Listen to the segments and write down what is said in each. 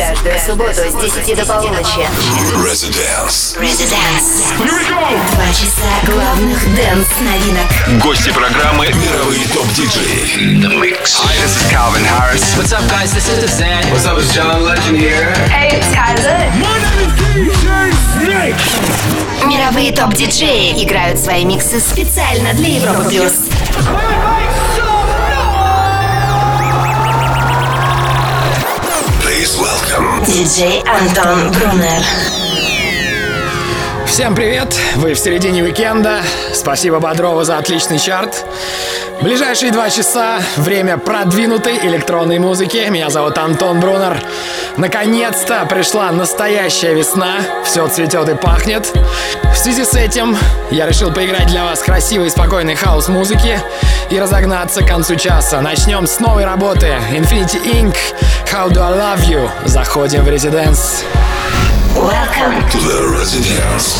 Каждую субботу с 10 до полуночи. Residence. 2 часа главных дэнс-новинок. Гости программы мировые топ-диджеи. The Mix. Hi, this is Calvin Harris. What's up, guys? This is Zan. What's up, it's John Legend here. Hey, it's Kaiser. Мировые топ-диджеи играют свои миксы специально для Европы Плюс. Please welcome Диджей Антон Брунер. Всем привет! Вы в середине уикенда. Спасибо Бодрову за отличный чарт. Ближайшие 2 часа — время продвинутой электронной музыки. Меня зовут Антон Брунер. Наконец-то пришла настоящая весна. Все цветет и пахнет. В связи с этим я решил поиграть для вас красивой и спокойной хаус-музыки и разогнаться к концу часа. Начнем с новой работы. Infinity Inc. How Do I Love You. Заходим в Residence. Welcome to the Residence.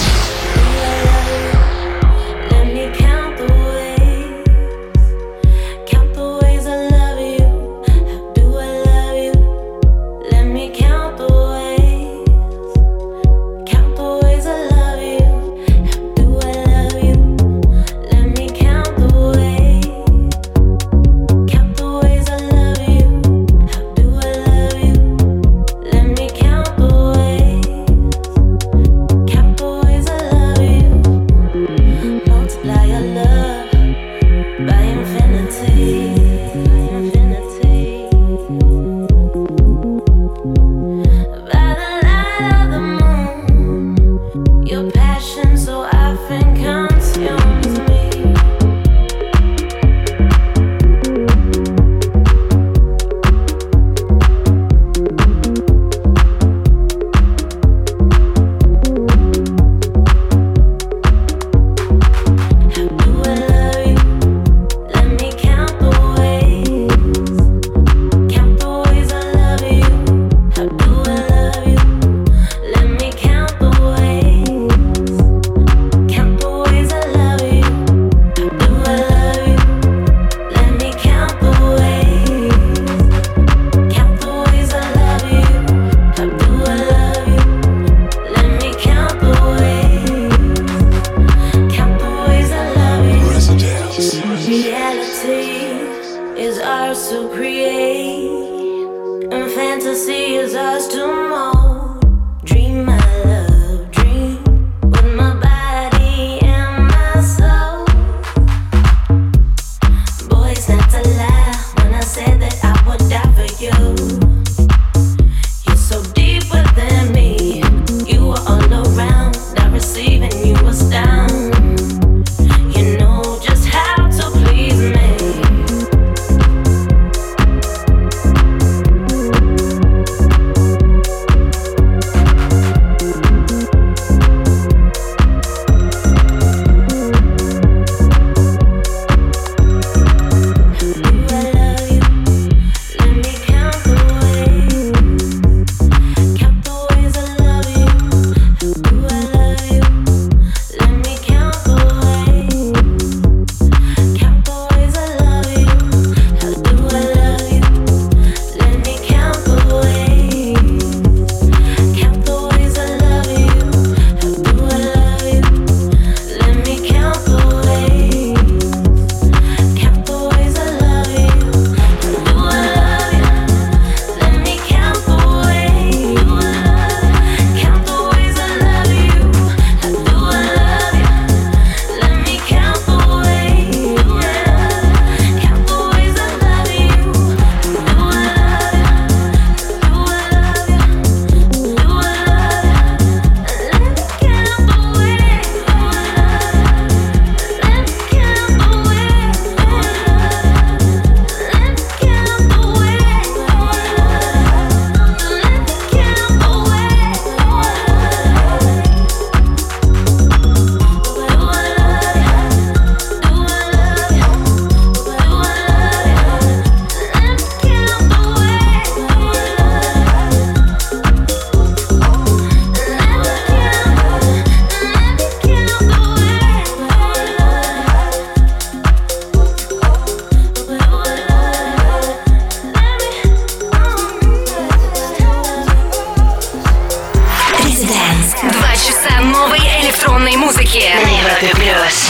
электронной музыки на Европе Плюс.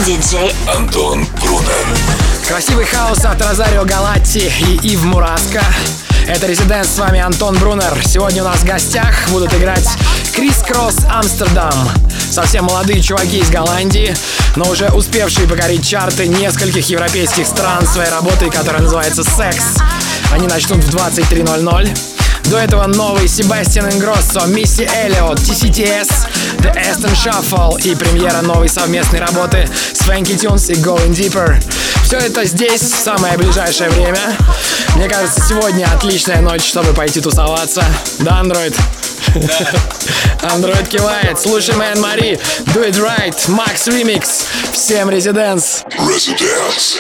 Диджей Антон Брунер. Красивый хаос от Розарио Галатти и Ив Мураско. Это Резиденс, с вами Антон Брунер. Сегодня у нас в гостях будут играть Крис Кросс Амстердам. Совсем молодые чуваки из Голландии, но уже успевшие покорить чарты нескольких европейских стран своей работой, которая называется «Секс». Они начнут в 23:00. До этого новый Себастьян Ингроссо, Мисси Эллиот, TCTS, The Aston Shuffle и премьера новой совместной работы с Funky Tunes и Going Deeper. Все это здесь в самое ближайшее время. Мне кажется, сегодня отличная ночь, чтобы пойти тусоваться. Да, Андроид? Андроид кивает. Слушаем Энн Мари, Do It Right, Max Remix. Всем Резиденс. Residence.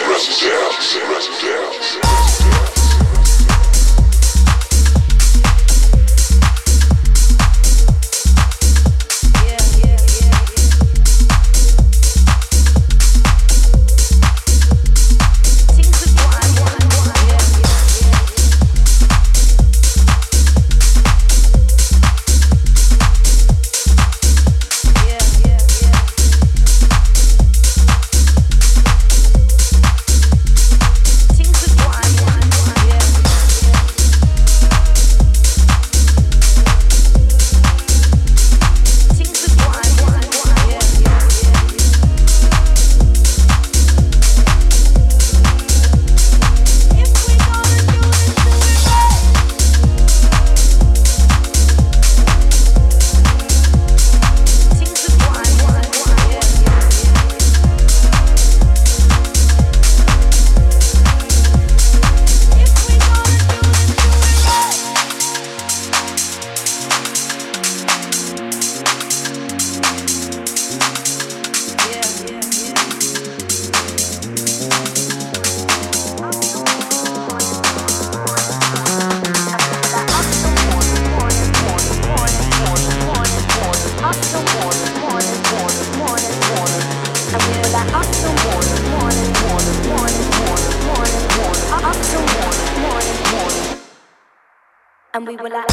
And we were like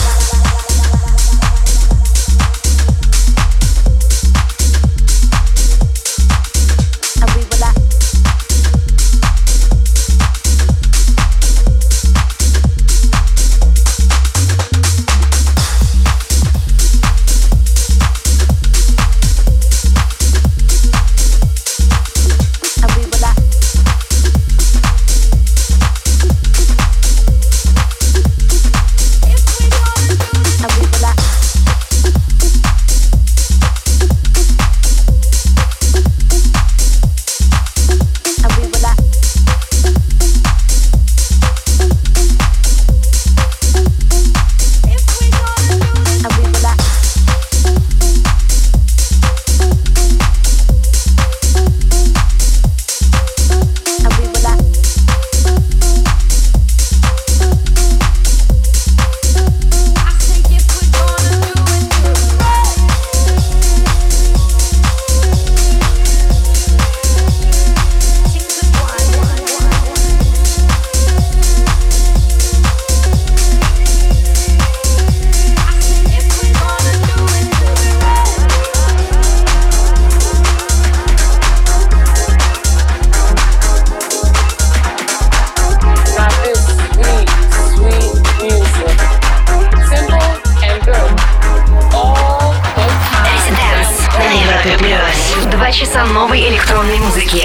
часа новой электронной музыки.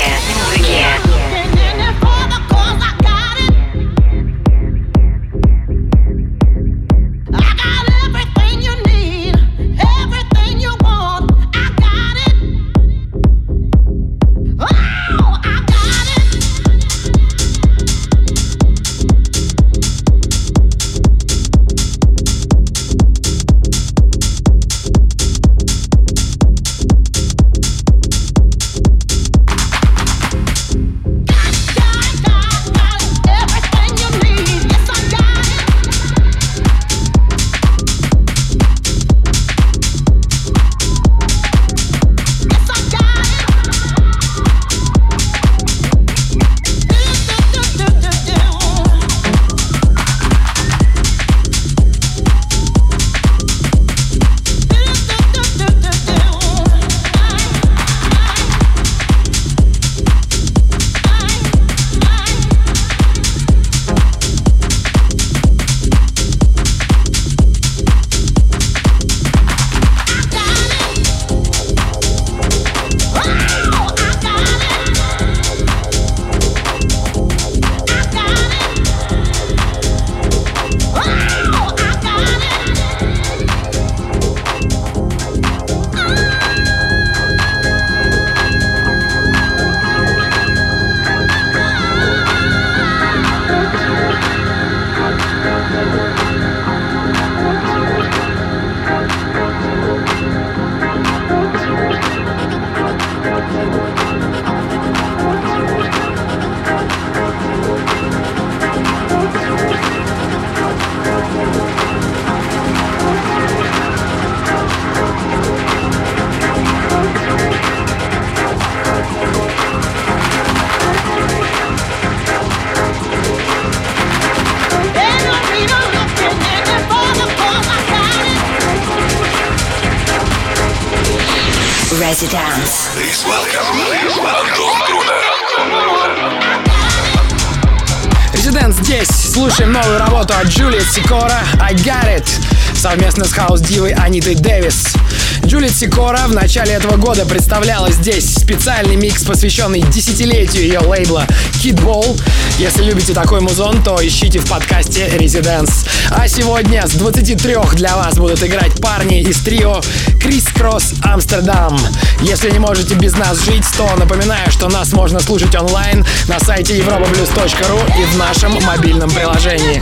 Residence. Please welcome Антон Брунер. Residence здесь. Слушаем новую работу от Джулиет Сикора «I Got It» совместно с хаус-дивой Анитой Дэвис. Джулиет Сикора в начале этого года представляла здесь специальный микс, посвященный десятилетию ее лейбла Kid Ball. Если любите такой музон, то ищите в подкасте Residence. А сегодня с 23 для вас будут играть парни из трио Criss Cross Amsterdam. Если не можете без нас жить, то напоминаю, что нас можно слушать онлайн на сайте europaplus.ru и в нашем мобильном приложении.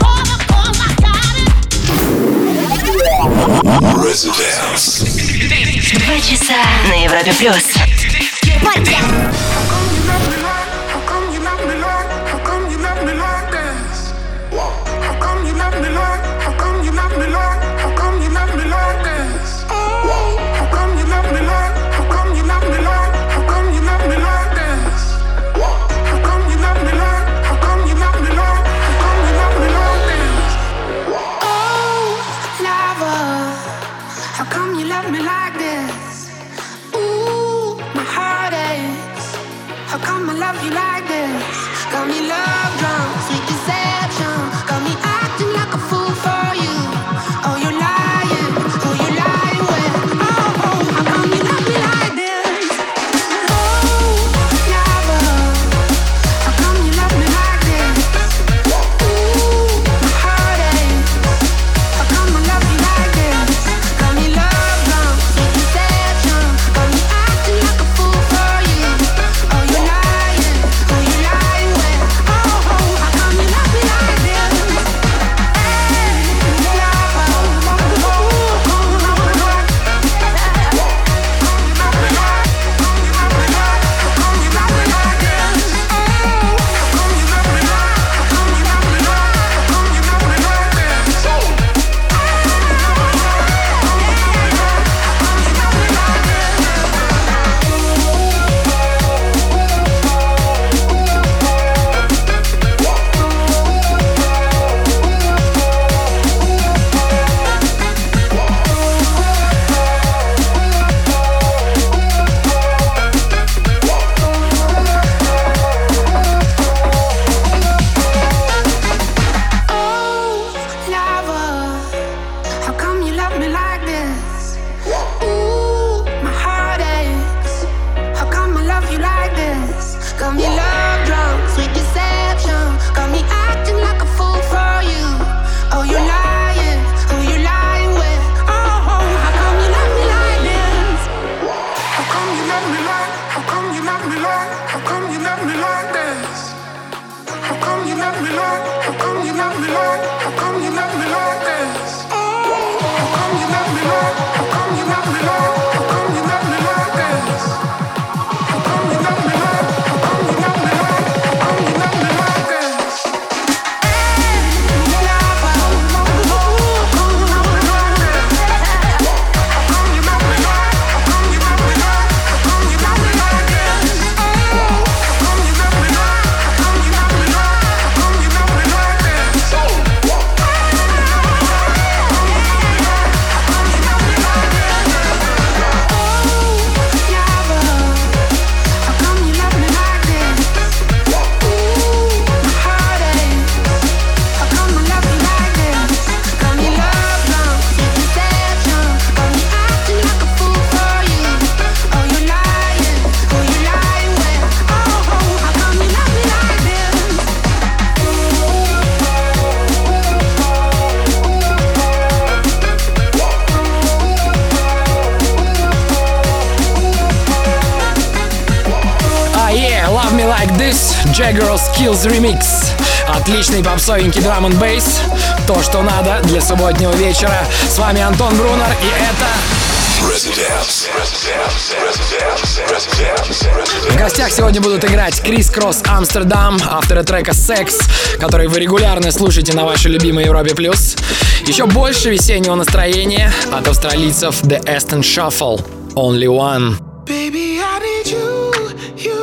Residence. 2 часа на Европе плюс. Jagger Skills Remix. Отличный попсовенький драм н бейс. То, что надо для субботнего вечера. С вами Антон Брунер, и это... В гостях сегодня будут играть Criss Cross Amsterdam, авторы трека Sex, который вы регулярно слушаете на вашей любимой Европе+. Еще больше весеннего настроения от австралийцев The Aston Shuffle. Only One. Baby, I need you, you.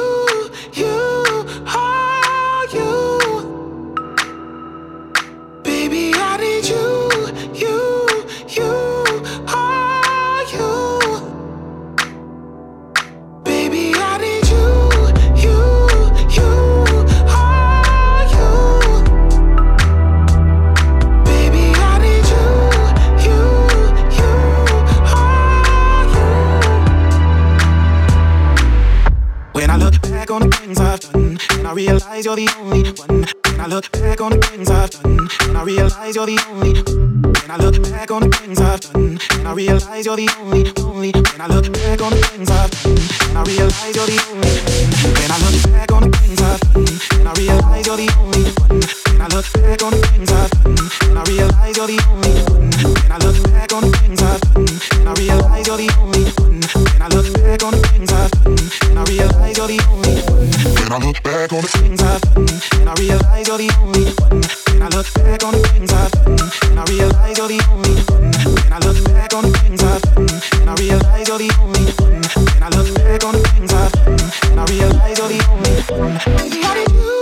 realize you're the only one. When I look back on the things I've done, and I realize you're the only. When I look back on the things I've done, and I realize you're the only. When I look back on the things I've done, and I realize you're the only. When I look back on the things I've done, and I realize you're the only one. When I look back on the things I've done, and I realize you're the only one. When I look back on the things I've done, and I realize you're the only one. When I look back on the things I've done, and I realize you're the only one. When I look back on the things I've done, and I realize you're the only one. When I look back on the things I've done, and I realize you're the only one. When I look back on the things I've done, and I realize you're the only one. When I look back on the things I've done, and I realize you're the only one. Baby, how did you,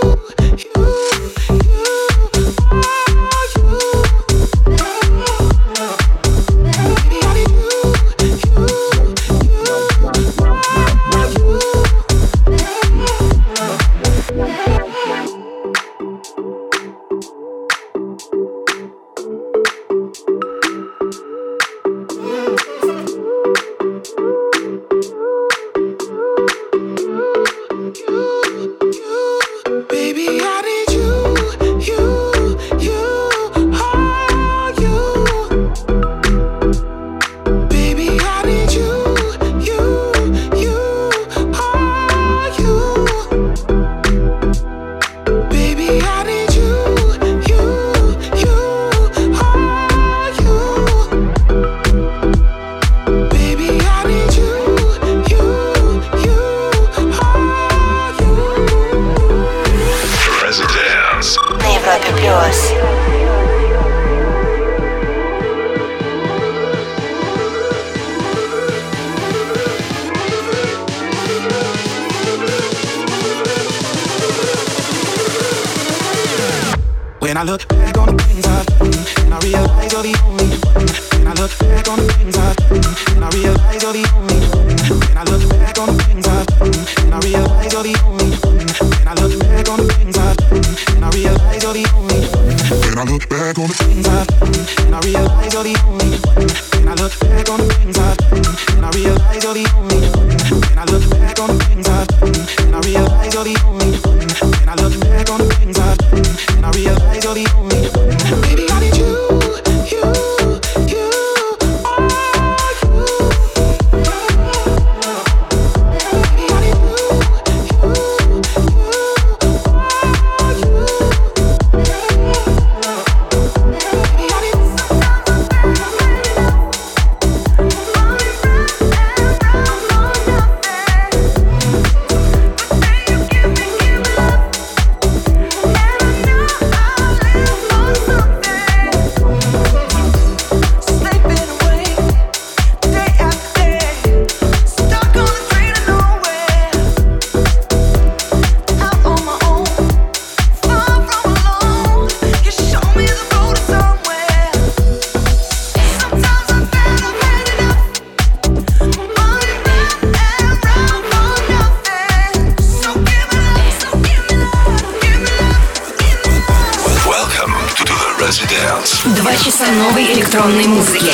when I look back on the things I've done, and I realize you're the only one. When I look back on the things I've done, and I realize you're the only one. When I look back on the things I've done, and I realize you're the only one. When I look back on the things I've done, and I realize you're the only one. When I look back on the things I've done, and I realize you're the only one. When I look back on the things I've done, and I realize you're the only one. When I look back on the things I've done, and I realize you're the only one. When I look back on the things I've done, and I realize you're the only one. Baby, how did you, Residence. 2 часа новой электронной музыки.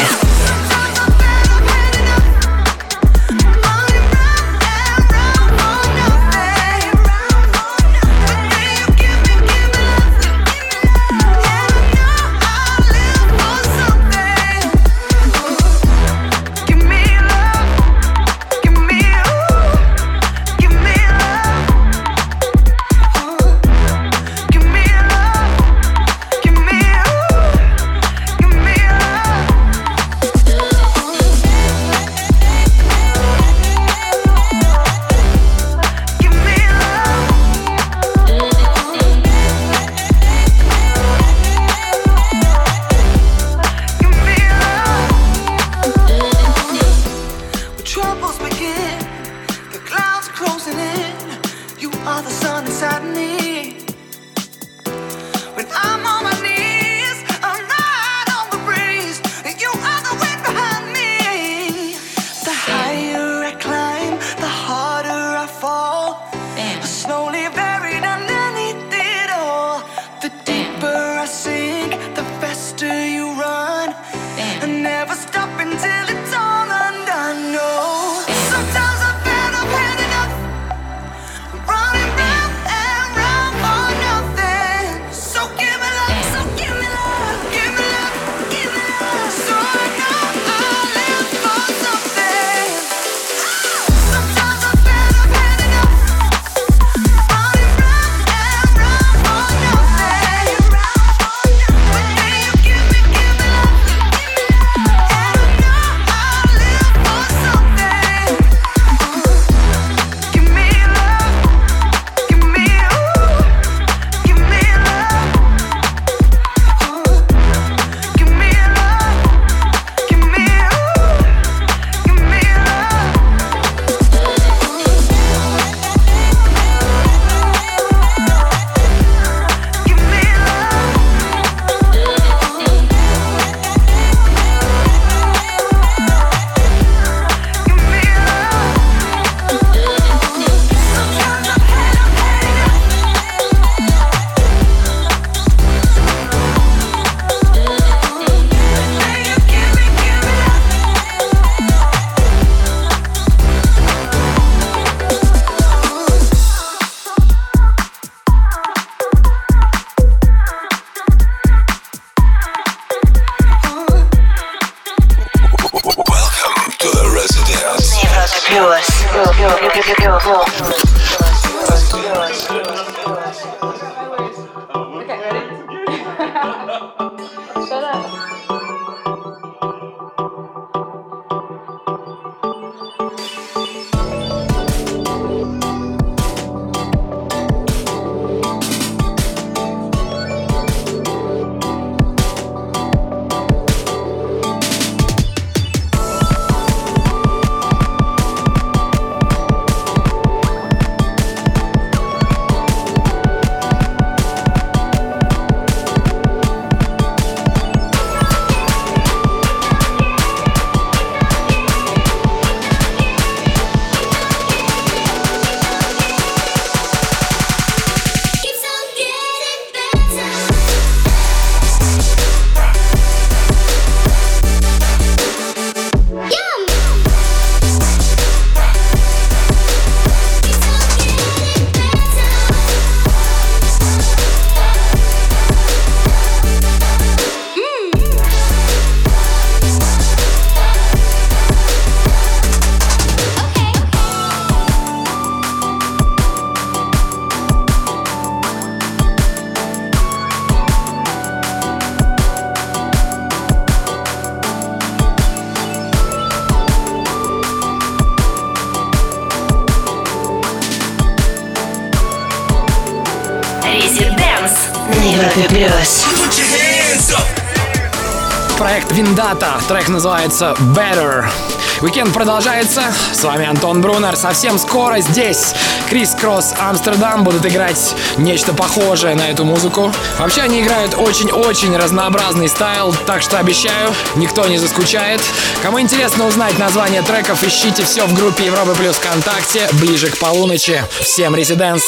Проект Виндата. Трек называется Better. Уикенд продолжается. С вами Антон Брунер. Совсем скоро здесь Крис Кросс Амстердам будут играть нечто похожее на эту музыку. Вообще они играют очень-очень разнообразный стайл, так что обещаю, никто не заскучает. Кому интересно узнать название треков, ищите все в группе Европы Плюс ВКонтакте ближе к полуночи. Всем резиденс!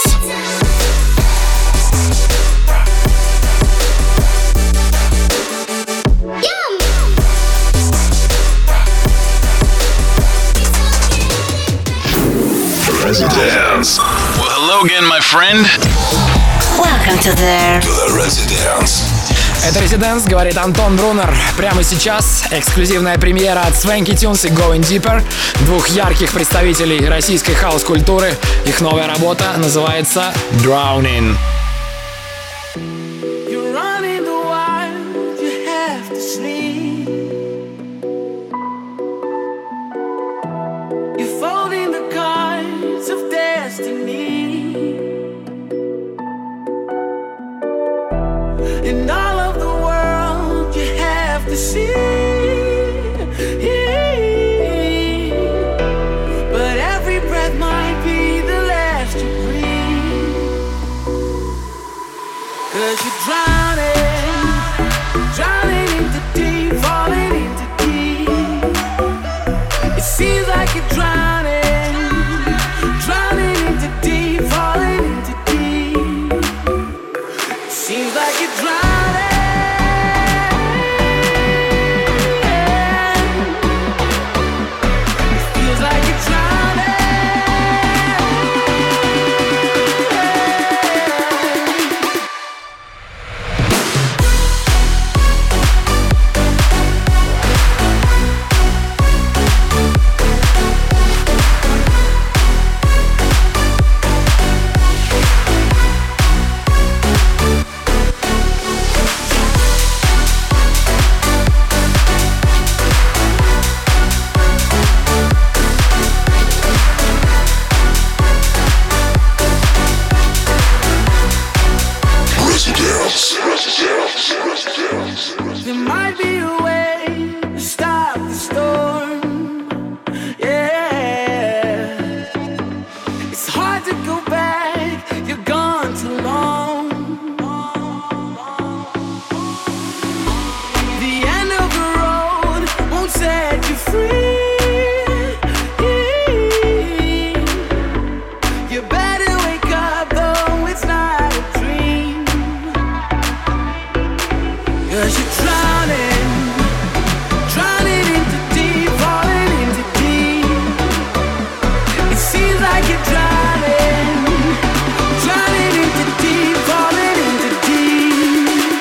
Residence. Well, hello again, my friend. Welcome to the Residence. Это «Резиденс», говорит Антон Брунер. Прямо сейчас эксклюзивная премьера от Swanky Tunes и Going Deeper, двух ярких представителей российской хаус-культуры. Их новая работа называется «Drowning». And all of the world you have to see. But every breath might be the last you breathe. 'Cause you're drowning, drowning into deep, falling into deep. It seems like you're drowning, drowning into deep, falling into deep. It seems like you're drowning. There might be a way to stop the storm. Yeah, it's hard to go back. You're gone too long. The end of the road won't set you free. You better wake up, though it's not a dream. 'Cause you're drowning, drowning into deep, falling into deep. It seems like you're drowning, drowning into deep, falling into deep.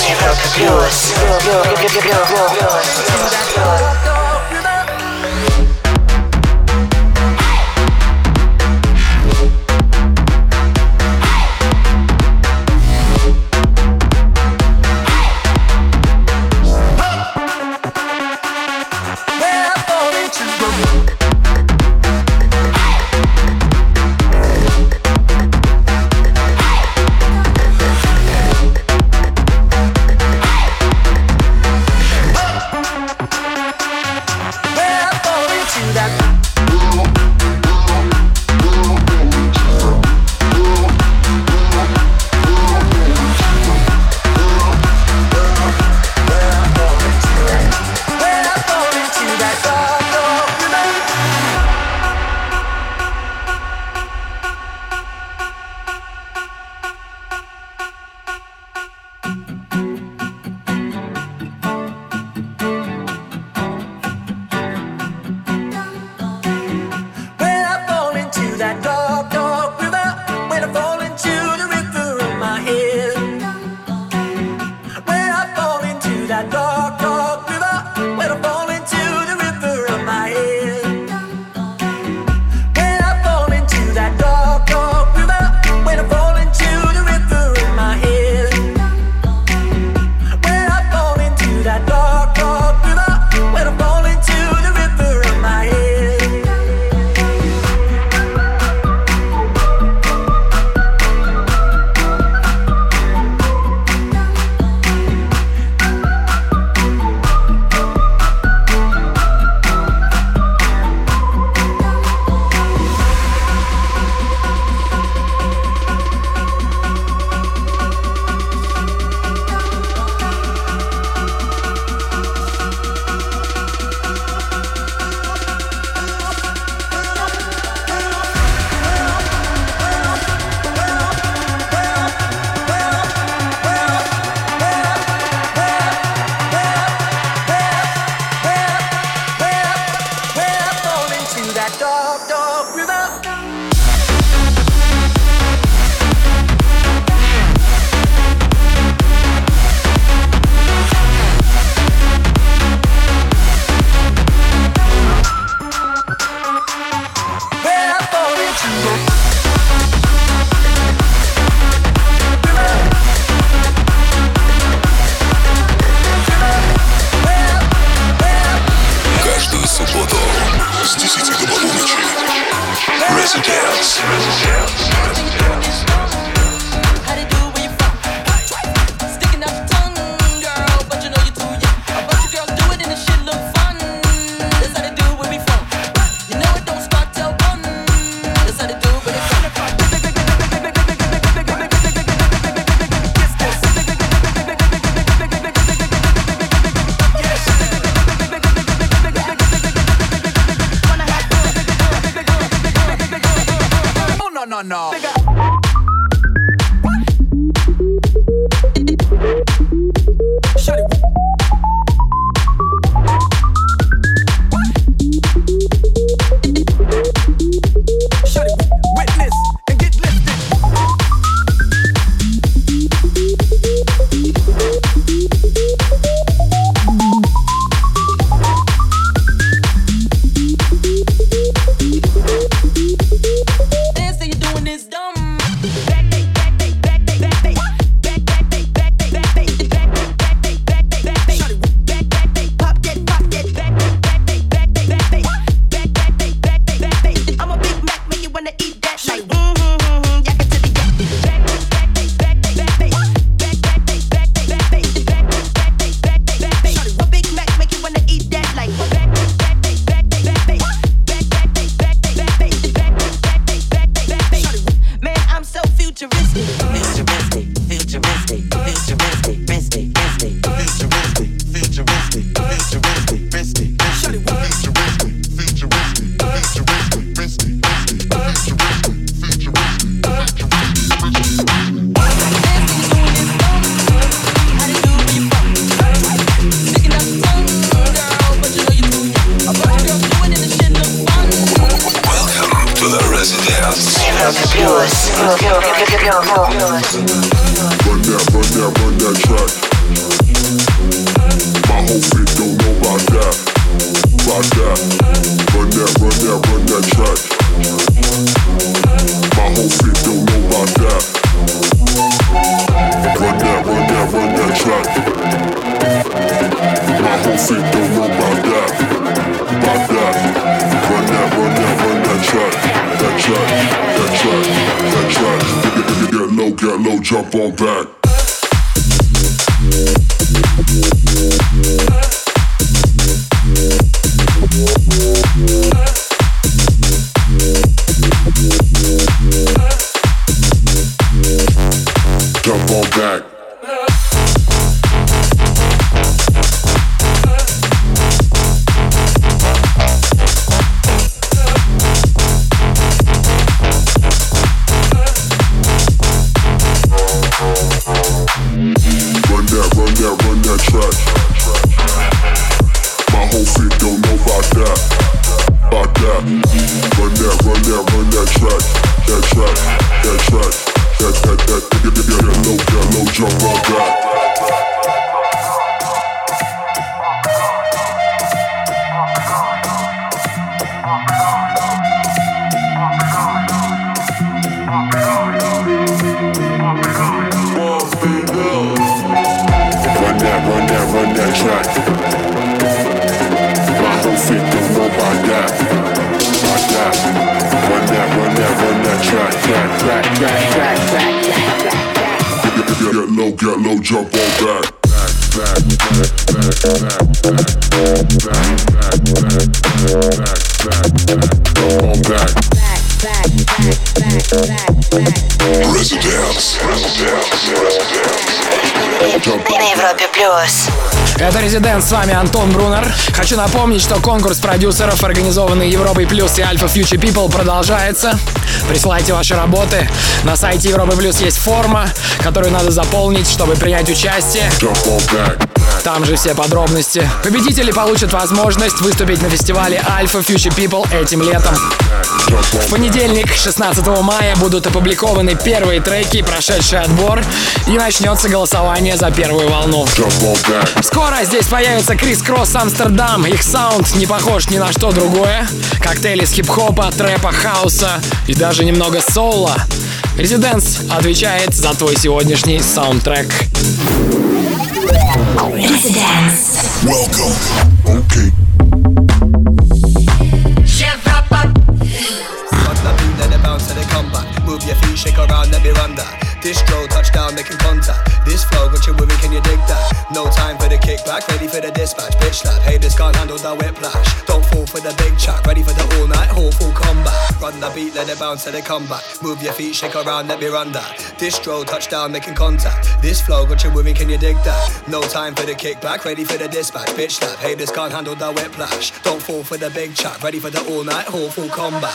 no. Run that track. feet don't know about that. About that. Run that, run that, run that track. That track, that track, that track. Get low, jump on back. Jump on back. Run that track. My whole feet don't know about that. About that. Run that track. That track. That track. That low, jump on back. Run that track. My whole feet don't know about that. About that. Run that track. Get low, jump on back. Jump on back. Residence. На Европе Плюс. Это Residence, с вами Антон Брунер. Хочу напомнить, что конкурс продюсеров, организованный Европой Плюс и Alpha Future People, продолжается. Присылайте ваши работы. На сайте Европы Плюс есть форма, которую надо заполнить, чтобы принять участие. Там же все подробности. Победители получат возможность выступить на фестивале Alpha Future People этим летом. В понедельник, 16 мая, будут опубликованы первые треки, прошедший отбор, и начнется голосование за первую волну. Скоро здесь появится Крис Кросс Амстердам. Их саунд не похож ни на что другое. Коктейль из хип-хопа, трэпа, хауса и даже немного соула. Residence отвечает за твой сегодняшний саундтрек. Residence. Welcome. Okay. Move your feet, shake around, let me run that. Distro, touchdown, making contact. This flow, got you moving, can you dig that? No time for the kickback, ready for the dispatch. Bitch slap, haters can't handle the whiplash. Don't fall for the big chat, ready for the all night haul, full combat. Run the beat, let it bounce, let it come back. Move your feet, shake around, let me run that. Distro, touchdown, making contact. This flow, got you moving, can you dig that? No time for the kickback, ready for the dispatch. Bitch slap, haters can't handle the whiplash. Don't fall for the big chat, ready for the all night haul, full combat.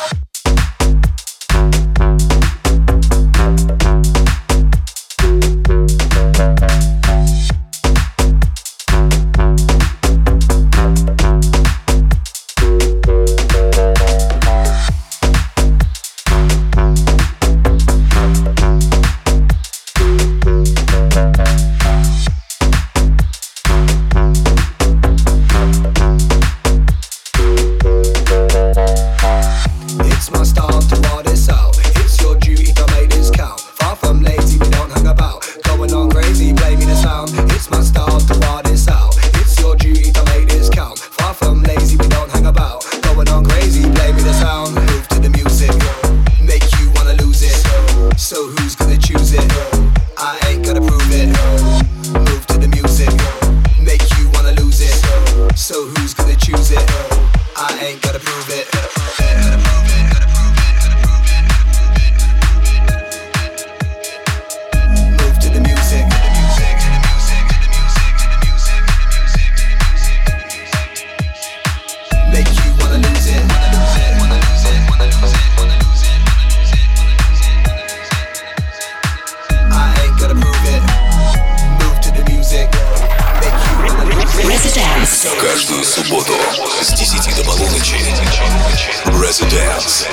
Каждую субботу с 10 до полуночи Residence.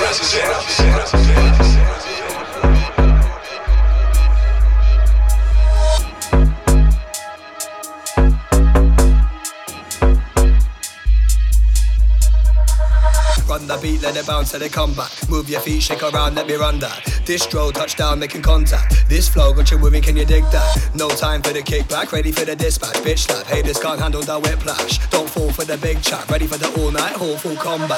Run the beat, let it bounce, let it come back. Move your feet, shake around, let me run that. Distro, touchdown, making contact. This flow got you moving, can you dig that? No time for the kickback, ready for the dispatch. Bitch slap, haters can't handle the whiplash. Don't fall for the big chat, ready for the all night haul, full combat.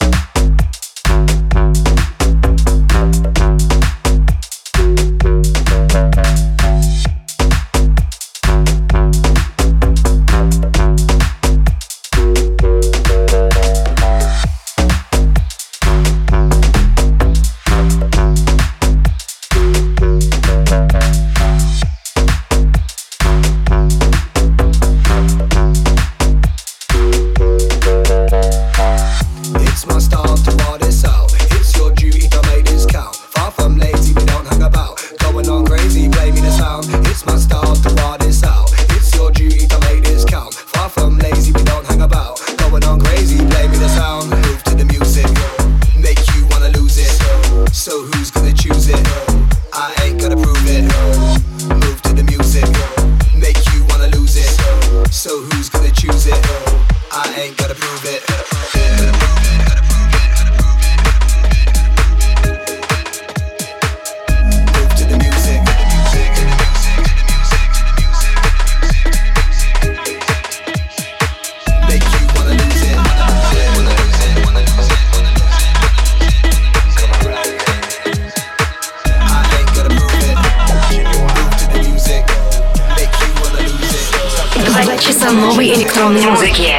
Часа новой электронной музыки.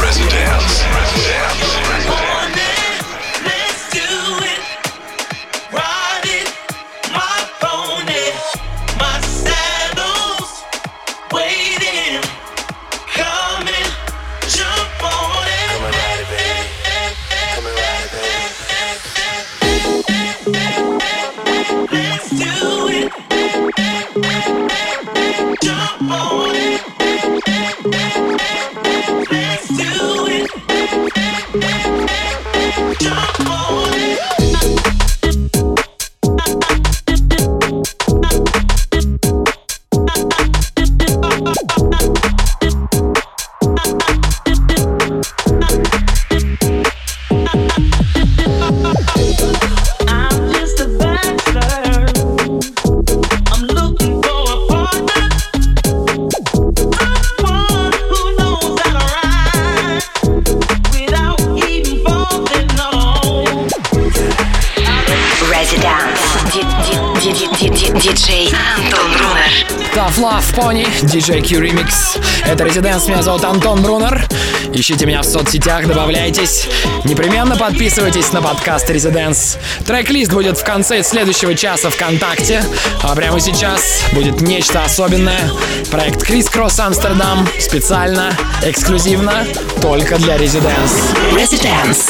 Диджей Антон Брунер. Tough Love Pony, DJ Q Remix. Это Residence, меня зовут Антон Брунер. Ищите меня в соцсетях, добавляйтесь. Непременно подписывайтесь на подкаст Residence. Трек-лист будет в конце следующего часа ВКонтакте. А прямо сейчас будет нечто особенное. Проект Criss Cross Amsterdam. Специально, эксклюзивно, только для Residence. Residence.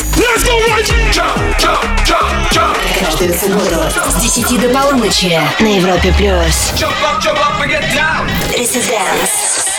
Каждую субботу с 10 до полуночи на Европе+. Residence.